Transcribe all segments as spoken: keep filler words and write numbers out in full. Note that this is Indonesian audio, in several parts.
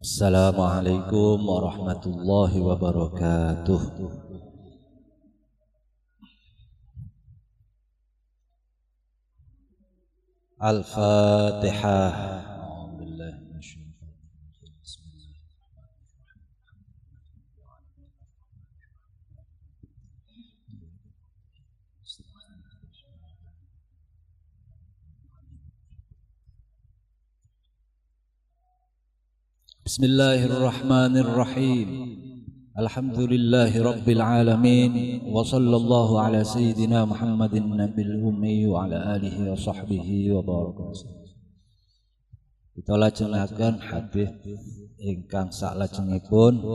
Assalamualaikum warahmatullahi wabarakatuh. Al-Fatihah. Bismillahirrahmanirrahim. Alhamdulillahi rabbil alamin. Wa sallallahu ala sayyidina Muhammadin nabil ummi wa ala alihi wa sahbihi wa barakatuh. Kita lajengaken hadis ingkang saklajengipun.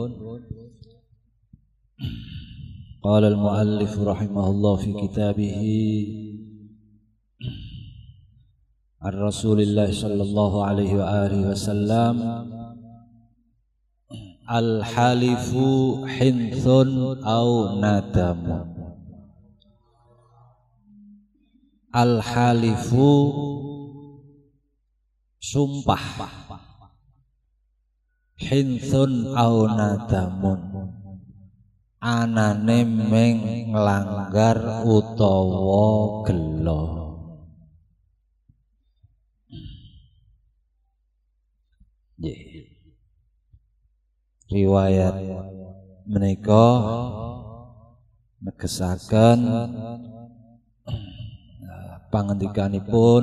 Qala al-muallif rahimahullah fi kitabihi Ar-Rasulillah sallallahu alaihi wa alihi wasallam, al-halifu hinthun au nadamu. Al-halifu sumpah, hinthun au nadamun anane meng nglanggar utawa gelo. Yeah. Riwayat menika negesaken pangendikanipun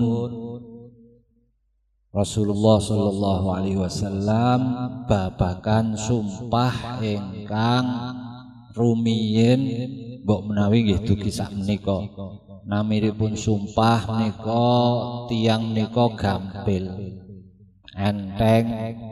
Rasulullah sallallahu alaihi wasallam babagan sumpah ingkang rumiyin mbok menawi nggih dugi sak menika. Namiripun sumpah menika tiyang menika gampil, enteng.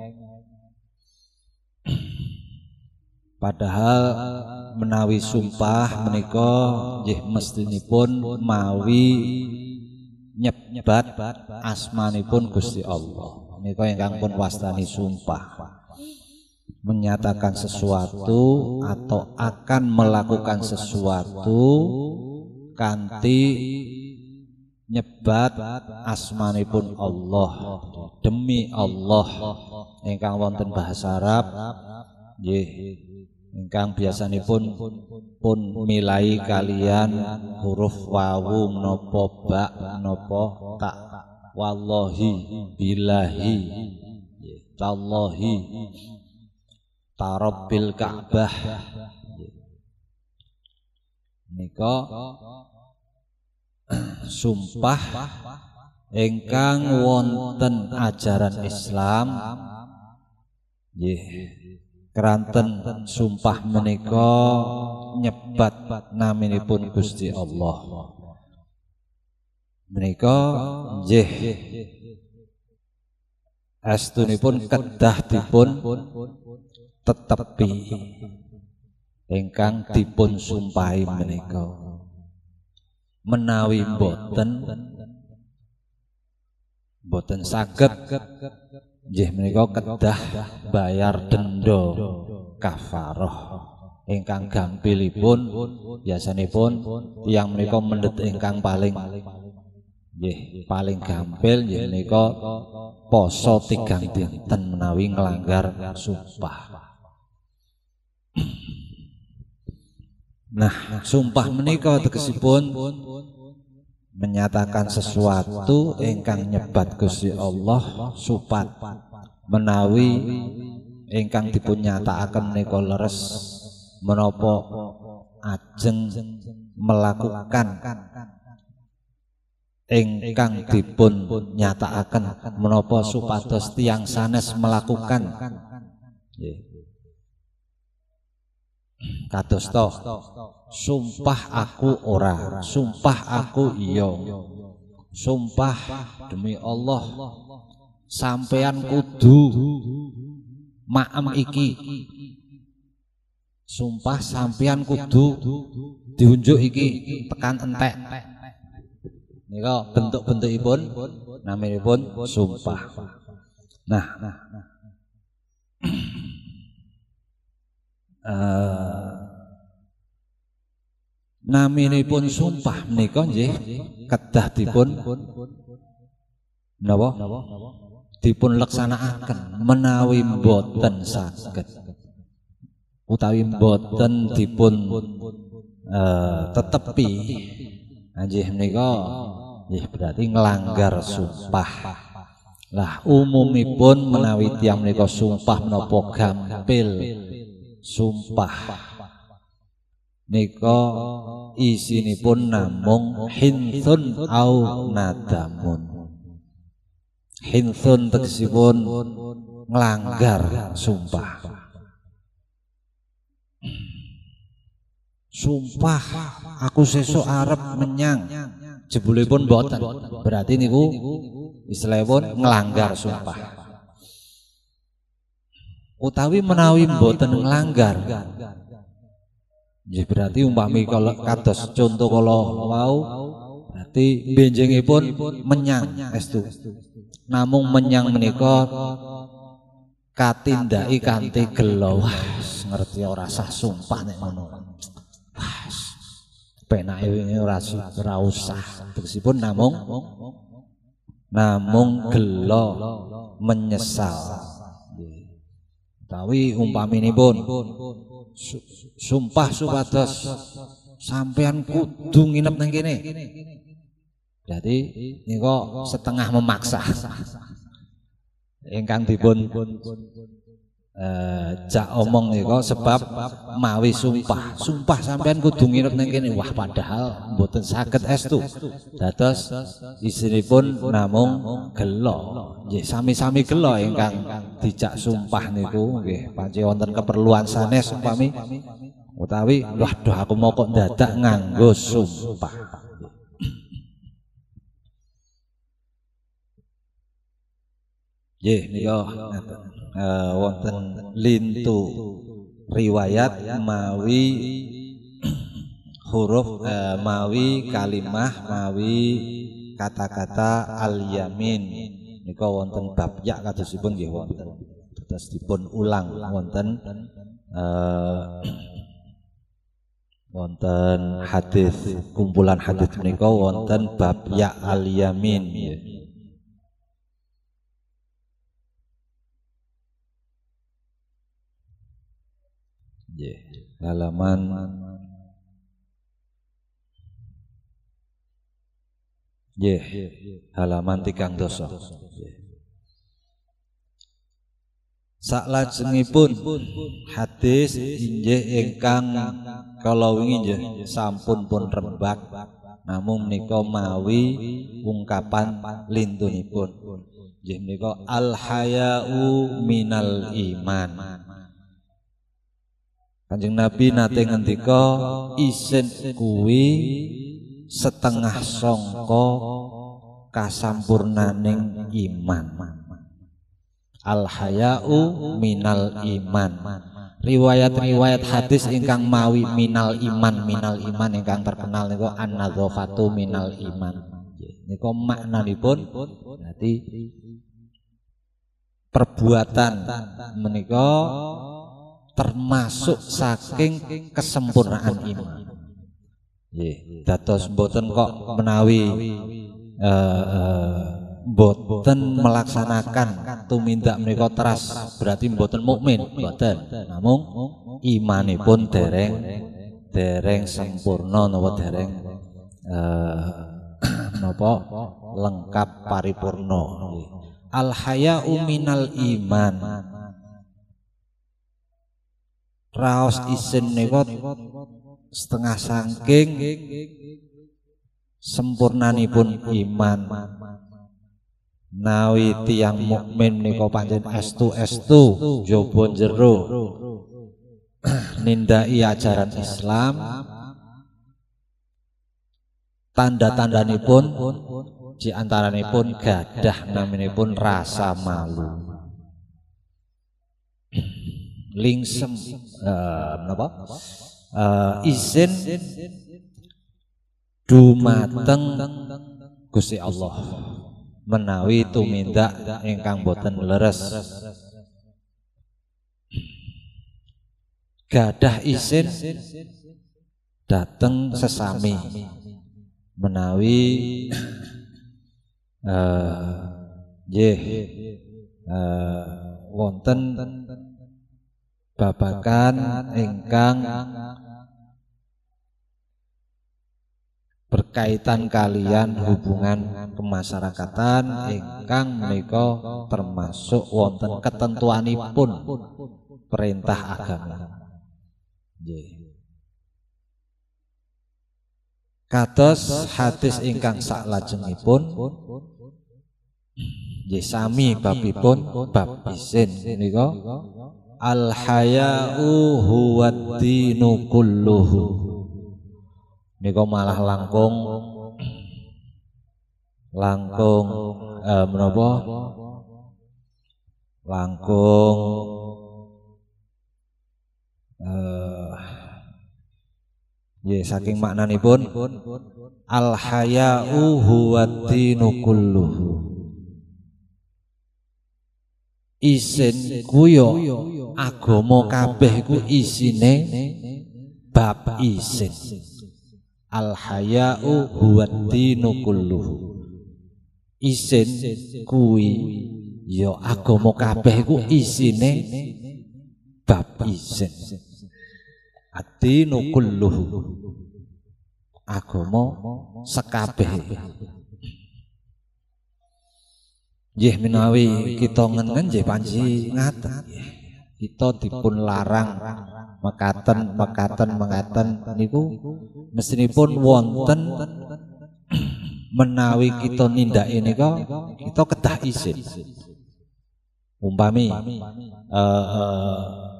Padahal menawi sumpah menika nggih mestinipun mawi nyebat asmanipun Gusti Allah. Menika ingkang pun wastani sumpah, menyatakan sesuatu atau akan melakukan sesuatu kanthi nyebat asmanipun Allah. Demi Allah ingkang wonten bahasa Arab nggih ingkang biasanipun pun milai kalian huruf wawu menapa ba menapa ta. Wallahi, billahi, tallahi, tarabbil Ka'bah. Nika sumpah ingkang wonten ajaran Islam nggih. Keranten sumpah menika nyebat naminipun Gusti Allah. Menika nggih astunipun kedah dipun tetepi ingkang dipun sumpahi menika. Menawi boten boten saged nggih menika kedah bayar denda kafarah ingkang gampilipun biasanipun tiyang menika mendhet ingkang paling nggih paling gampil nggih menika poso tigang dinten menawi nglanggar sumpah. Nah, sumpah menika tegesipun menyatakan sesuatu ingkang nyebat Gusti Allah supat menawi ingkang dipun nyatakaken menika leres menapa ajeng melakukan ingkang dipun nyatakaken menapa supados tiyang sanes melakukan nggih. Kados to sumpah aku ora, sumpah aku iya, sumpah demi Allah sampean kudu maem iki, sumpah sampean kudu diunjuk iki tekan entek. Nika bentuk-bentukipun naminipun sumpah. Nah, Uh, naminipun sumpah menika nggih kedah dipun napa dipun laksanakaken menawi boten saged utawi boten dipun uh, tetepi nggih menika nggih berarti nglanggar sumpah. Lah umumipun menawi tiyang menika sumpah menapa gampil sumpah nika isinipun namung hinsun au nadamun. Hinsun tegesipun nglanggar sumpah. Sumpah aku sesuk arep menyang jebulipun boten. Berarti niku istilahipun nglanggar sumpah. Utawi menawi boten nglanggar nggih berarti umpami kalau kados contoh kala wau berarti benjingipun menyang estu. Namung menyang menika katindaki kanthi gelo. Wah, ngerti ora sah sumpah nek ngono. Wah, penake wingi ora ora usah. Tegesipun namung namung gelo menyesal. Utawi umpaminipun sumpah supados sampean kudu nginep nang kene. Jadi nika setengah memaksa. Ingkang dipun eh jak omong nika sebab mawi sumpah. Sumpah sampean kudu nginep nang kene. Wah padahal mboten saged estu. Dados isinipun namung gelo. Nggih sami-sami gelo ingkang dijak sumpah niku nggih pancen wonten keperluan sanes umpami utawi waduh aku mau kok dadak nganggo sumpah. Nggih nika eh wonten lintu riwayat mawi huruf eh, mawi kalimah mawi kata-kata al-yamin nika wonten bab ya kadosipun nggih wonten terus dipun ulang wonten eh, wonten hadis kumpulan hadis menika wonten bab ya al-yamin nggih. Nggih halaman nggih halaman tigang dosa. Saklajengipun hadis inggih ingkang kala wingi nggih sampun pun rembag namung menika mawi ungkapan lintunipun nggih menika al haya'u minal iman. Kanjeng Nabi nate ngendika isin kuwi setengah sangka kasampurnaning iman. Al haya'u minal iman. Riwayat-riwayat hadis ingkang mawi minal iman minal iman ingkang terkenal niku an-nadzafatu minal iman. Niku maknanipun berarti perbuatan menika termasuk saking kesempurnaan iman. Nggih, dados mboten kok menawi mboten uh, uh, melaksanakan tumindak menika teras berarti mboten mukmin, mboten. Namung imanipun dereng dereng sempurna napa dereng uh, napa lengkap paripurna. Al haya'u minal iman. Raos isin niku setengah saking sempurnanipun iman. Nawi tiyang mukmin nika pancen estu-estu jaba jero nindaki ajaran Islam. Tanda-tandanipun di antaranipun gadah naminipun rasa malu. Lingsem uh, napa? Uh, izin dumateng Gusti Allah menawi tumindak ingkang boten leres. Gadah izin dateng sesami menawi uh, nggih uh, wonten babakan ingkang berkaitan kalian hubungan kemasyarakatan ingkang menika termasuk wonten ketentuanipun perintah agama. Nggih. Kados hadis ingkang saklajengipun nggih sami babipun bab izin menika al haya'u huwad dinu kulluhu. Nika malah langkung langkung eh, menapa langkung eh ya saking maknanipun al haya'u huwad dinu kulluhu. Isin kuyo agama kabeh ku isine bab isin. Al haya'u huwad dinu kulluhu. Isin kuwi ya agama kabeh ku isine bab isin. Ad-dinu kulluhu. Agama sekabeh. Nggih menawi kita ngengen nggih panji ngaten. Kita dipun larang mekaten mekaten mekaten niku mesinipun wonten menawi kita nindake nika kita kedah izin. Umpami eh uh,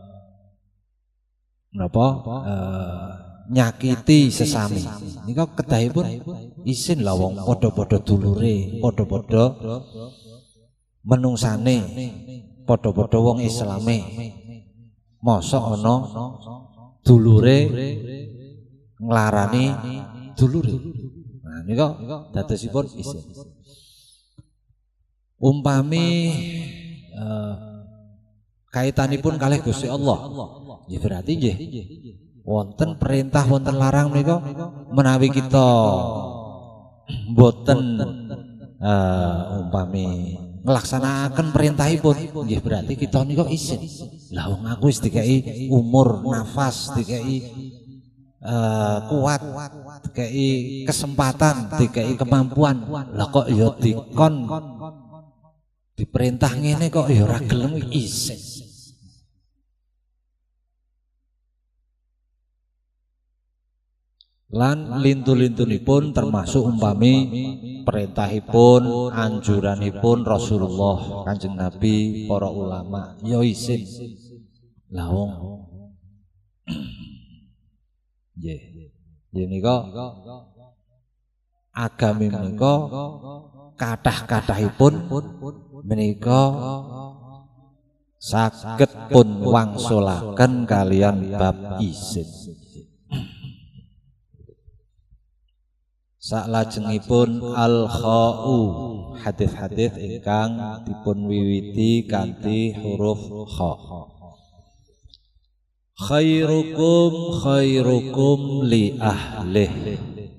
napa uh, nyakiti sesami nika kedahipun izin lah wong padha-padha dulure, padha-padha menungsane, padha-padha wong Islame. Mosok ana dulure nglarani dulure. Nah nika dadosipun izin. Umpami uh, kaitanipun kalih Gusti Allah. Ya berarti nggih wonten perintah wonten larang menika menawi kita mboten uh, umpami nglaksanakaken perintahipun nggih berarti kita nika izin. Lah wong aku wis dikai umur, nafas, dikai uh, kuat, dikai kesempatan, dikai kemampuan. Lah kok ya dikon diperintah ngene kok ya ora gelem izin. Lan lintu-lintunipun termasuk umpami perintahipun, anjuranipun Rasulullah Kanjeng Nabi, para ulama ya izin. Lah wong nggih. Nggih nika agami menika kathah-kathahipun menika saged pun wangsulaken kalian bab izin. Saklajengipun al-kha'u hadis-hadis ingkang dipun wiwiti kanthi huruf kha. Khairukum khairukum li ahlih.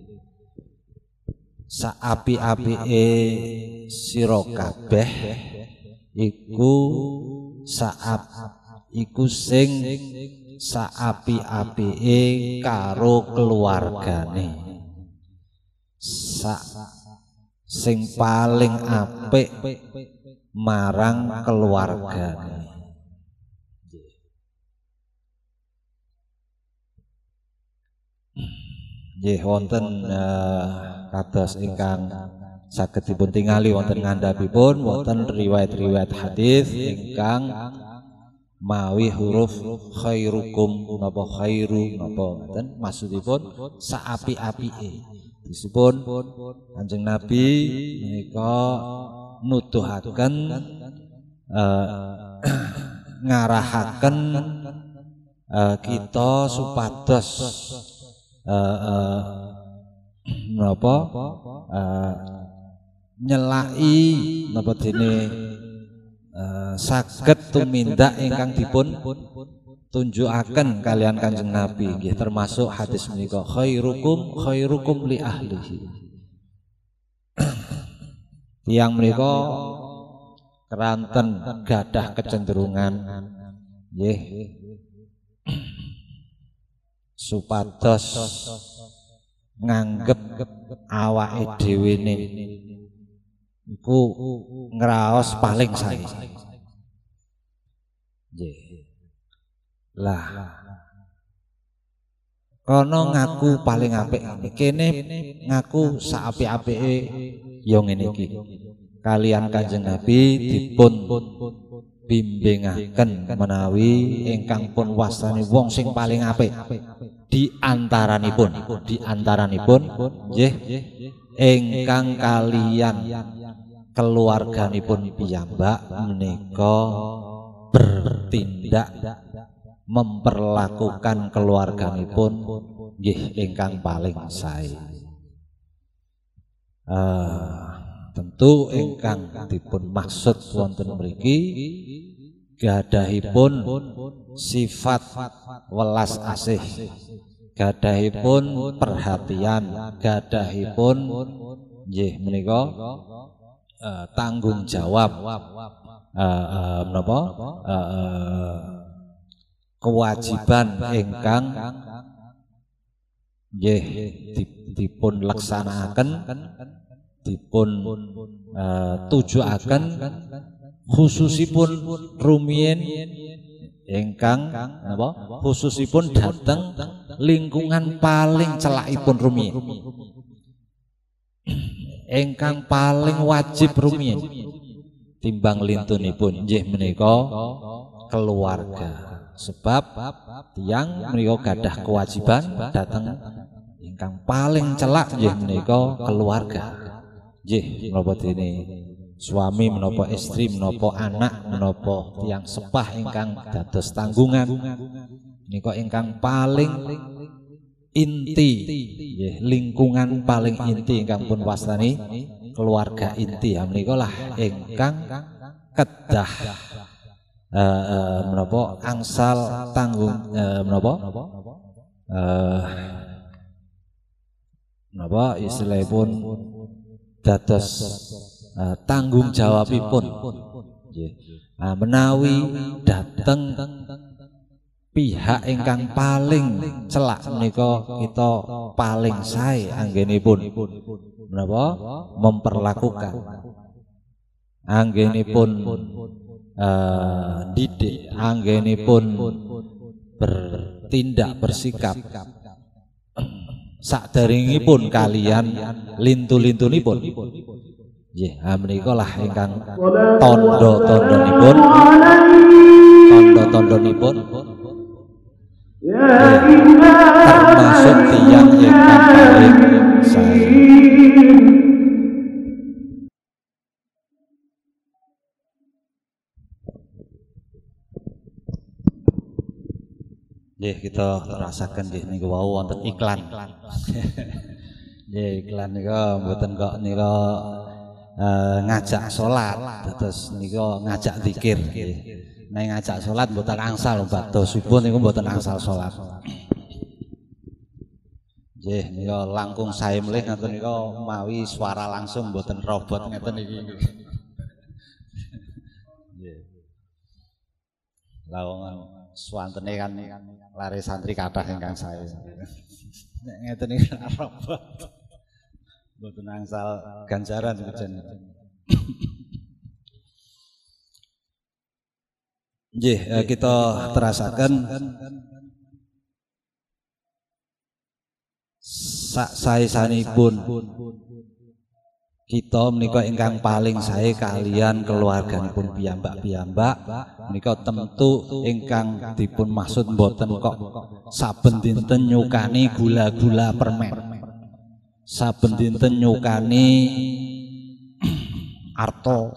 Saapi-apike sira kabeh iku saap iku sing saapi-apike karo keluargane. Sa sing paling apik marang keluargane. Nggih wonten uh, kados ingkang saged dipun tingali wonten ngandhapipun wonten riwayat-riwayat hadis ingkang mawi huruf khairukum napa khairu napa ngoten maksudipun saapi-apike. Disipun Kanjeng Nabi menika nuduhaken uh, ngarahaken uh, kita supados uh, uh, napa uh, nyelaki napa dene uh, saged tumindak ingkang dipun tunjukaken kalian Kanjeng Nabi nggih termasuk hadis menika khairukum khairukum li ahlihi. Tiyang menika keranten gadah kecenderungan nggih supados nganggep awake dhewe ne iku ngraos paling sae. Nggih. Lah kono ngaku paling apik, kene ngaku saapik-apike ya ngene iki. Kalian Kanjeng Nabi dipun bimbingaken menawi ingkang pun wastani wong sing paling apik di antaranipun, di antaranipun nggih ingkang kalian keluarganipun piyambak menika bertindak memperlakukan keluarganipun nggih ingkang paling sae. Uh, tentu ingkang dipun maksud wonten mriki gadahipun sifat welas asih, gadahipun perhatian, gadahipun nggih menika uh, tanggung jawab uh, uh, menapa uh, kewajiban ingkang nggih dipun laksanakaken dipun uh, tujuaken khususipun rumiyin ingkang napa khususipun dhateng lingkungan paling celakipun rumiyin ingkang paling wajib rumiyin timbang lintunipun nggih menika keluarga. Sebab tiyang menika gadah kewajiban dhateng ingkang paling celak nggih menika keluarga. Nggih menapa dene suami menapa istri menapa anak menapa tiyang sepah ingkang dados tanggungan menika ingkang paling inti nggih lingkungan paling inti ingkang pun wastani keluarga inti ya menika lah ingkang kedah Uh, uh, menapa angsal tanggung uh, menapa uh, menapa istilahipun dados uh, tanggung jawabipun nggih. Nah, menawi dhateng pihak ingkang paling celak menika kita paling sae anggenipun menapa memperlakukan anggenipun Uh, didik anggenipun bertindak bersikap sakderengipun kalian lintu-lintunipun nggih menika lah ingkang tanda-tandanipun tanda-tandanipun termasuk tiyang ingkang paling sae. Nggih kita rasaken nggih niku wau wonten iklan. Nggih iklan nika mboten kok nika uh, ngajak salat, terus nika ngajak zikir nggih. Nek ngajak salat mboten angsal badhe subuh niku mboten angsal salat. Nggih nika langkung sae mlih ngoten nika mawi swara langsung mboten robot ngeten iki. Nggih. Lawang swantene kan lare santri kathah ingkang sae. Nek ngeten iki robot. Mboten angsal ganjaran sejen. Nggih, kita terasaken sak saesanipun kita menika ingkang paling sae kalian keluarganipun piyambak-piyambak menika tentu ingkang dipun maksud mboten kok saben dinten nyukani gula-gula permen, saben dinten nyukani arto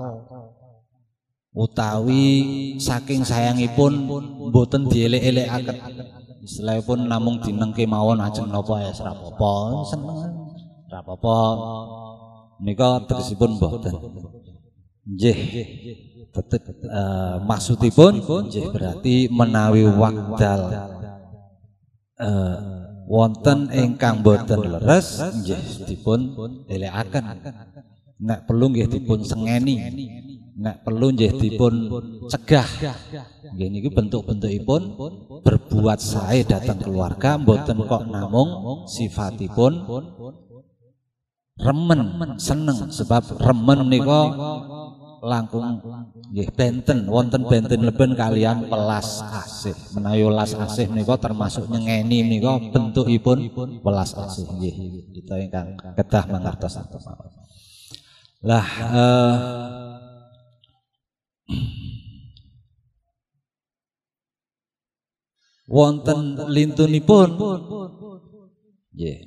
utawi saking sayangipun mboten dielek-elekaken istilahipun namung dinengke mawon ajeng napa ya ora apa-apa seneng ora apa-apa menika tegesipun mboten. Nggih. Tetep uh, maksudipun nggih berarti menawi wekdal uh, wonten ingkang boten leres nggih dipun elekaken. Nek perlu nggih dipun sengeni nek perlu nggih dipun cegah. Nggih niki bentuk-bentukipun berbuat sae dhateng keluarga, mboten kok namung sifatipun remen, seneng. Sebab remen nika langkung nggih benten, wonten benten leben kalian welas asih. Menawi welas asih menika termasuk nyengeni menika bentukipun welas asih nggih. Kita ingkang kedah mangertos atus mawon. Lah eh, wonten lintunipun nggih.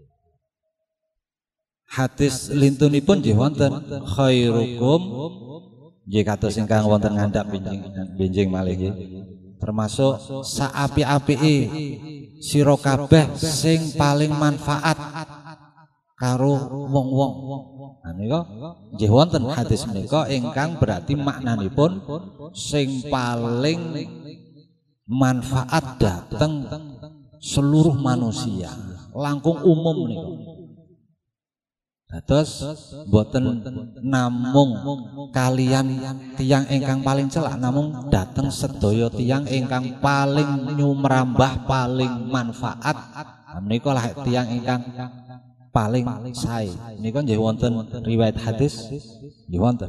Hadis lintunipun nggih wonten khairukum nggih kados ingkang wonten ngandhap benjing benjing malih nggih. Termasuk saapi-apike sira kabeh sing paling manfaat karo wong-wong. Nah nika nggih wonten hadis menika ingkang berarti maknanipun sing paling manfaat dhateng seluruh manusia, langkung umum nika. Dados boten namung kalian tiyang ingkang paling celak, namung dhateng sedaya tiyang ingkang paling nyumrambah, paling manfaat. Menika lah tiyang ingkang paling sae. Nika nggih wonten riwayat hadis nggih wonten.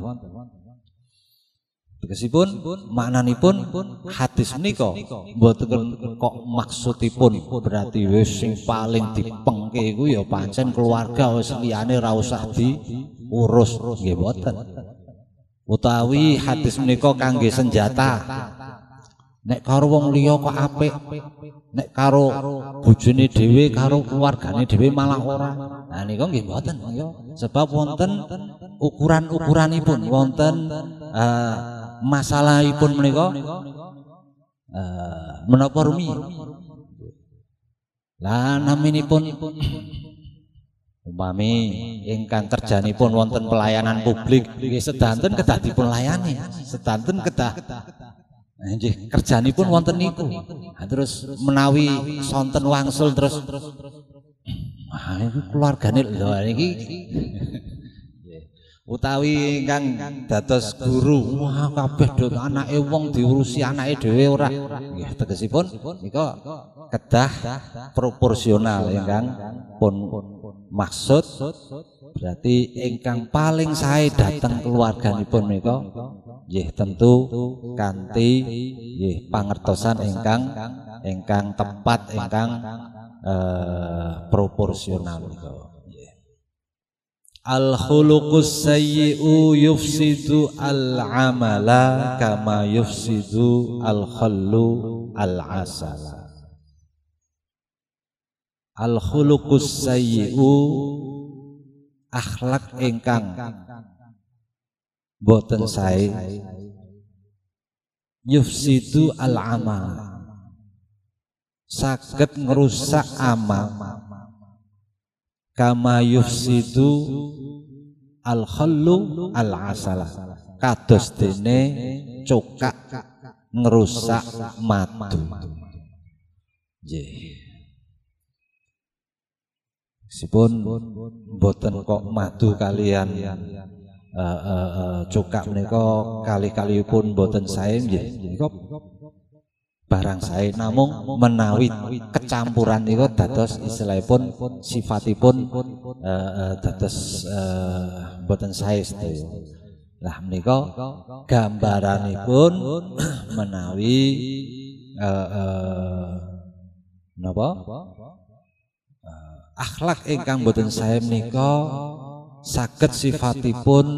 Tegesipun maknanipun hadis menika mboten kok maksudipun berarti wis sing paling dipengke iku ya pancen keluarga, wis liyane ra usah diurus nggih mboten. Utawi hadis menika kangge senjata. Nek karo wong liya kok apik, nek karo bojone dhewe karo keluargane dhewe malah ora. Nah nika nggih mboten ya. Sebab wonten ukuran-ukuranipun, wonten uh, masalahipun menika uh, menapa rumiyin. Lah naminipun umpami ingkang kerjanipun wonten pelayanan publik nggih sedanten kedah dipun layani, sedanten kedah nggih kerjanipun wonten niku. Nah, terus menawi sonten wangsul terus ah iki keluargane lho niki utawi ingkang dados guru, wah kabeh do anake wong diurusi anake dhewe ora. Nggih tegesipun nika kedah proporsional ingkang pun maksud berarti ingkang paling sae dhateng keluarganipun menika nggih tentu kanthi nggih pangertosan ingkang ingkang tepat, ingkang eh, proporsional menika. Al-khuluqus sayyi'u yufsidu al-amala kama yufsidu al-khallu al-asala. Al-khuluqus sayyi'u akhlak ingkang boten sae yufsidu al-amal saged ngrusak amal kama yufsidu al-khallu al-asala kados dene cokak ngrusak madu. Nggih. Sipun mboten kok madu kalian uh, uh, uh, cokak menika kali-kalipun mboten sae nggih. Menika barang sae namung menawi kecampuran niku dados istilahipun sifatipun uh, uh, dados uh, boten sae sedaya. Lah menika gambaranipun menawi uh, uh, napa uh, akhlak ingkang boten sae menika saged sifatipun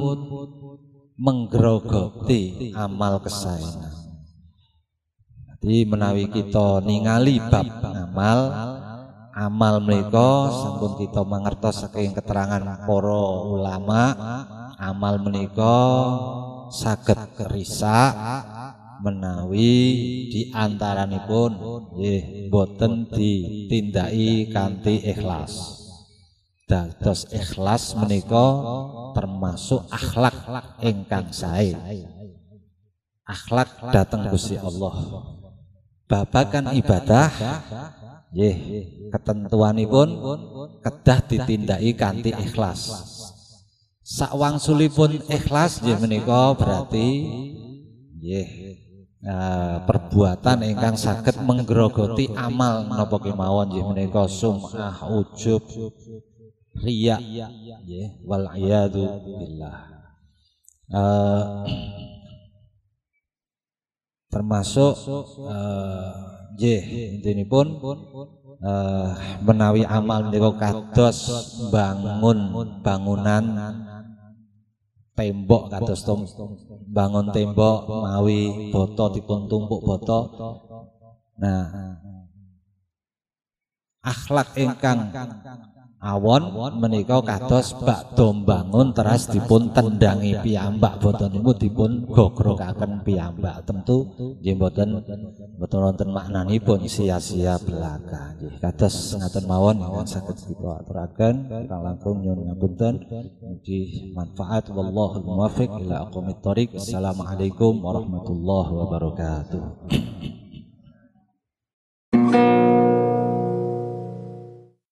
menggerogoti amal kesaenan. Jadi menawi kita ningali bab amal, amal menika sampun kita mangertos saking keterangan para ulama, amal menika saged risak menawi diantaranipun nggih boten ditindaki kanthi ikhlas. Dados ikhlas menika termasuk akhlak ingkang sae. Akhlak dhateng Gusti Allah. Babagan ibadah nggih ketentuanipun kedah ditindaki kanthi ikhlas. Sakwangsulipun ikhlas nggih menika berarti nggih uh, perbuatan ingkang saged menggerogoti amal napa kemawon nggih menika sum'ah, ujub, riya nggih wal iyadu billah. Uh, termasuk nggih uh, intinipun uh, menawi amal menika kados bangun bangunan tembok kados bangun tembok mawi boto dipun tumpuk boto. Nah, akhlak ingkang awon menika kados bakda bangun teras dipun tendangi piyambak boten niku dipun gogrokaken piyambak. Tentu nggih mboten mboten wonten maknanipun sia-sia belaka nggih. Kados ngaten mawon ingkang saged kita aturaken kirang langkung nyuwun ngapunten mugi manfaat wallahul muwaffiq ila aqwamit thoriq. Assalamualaikum warahmatullahi wabarakatuh.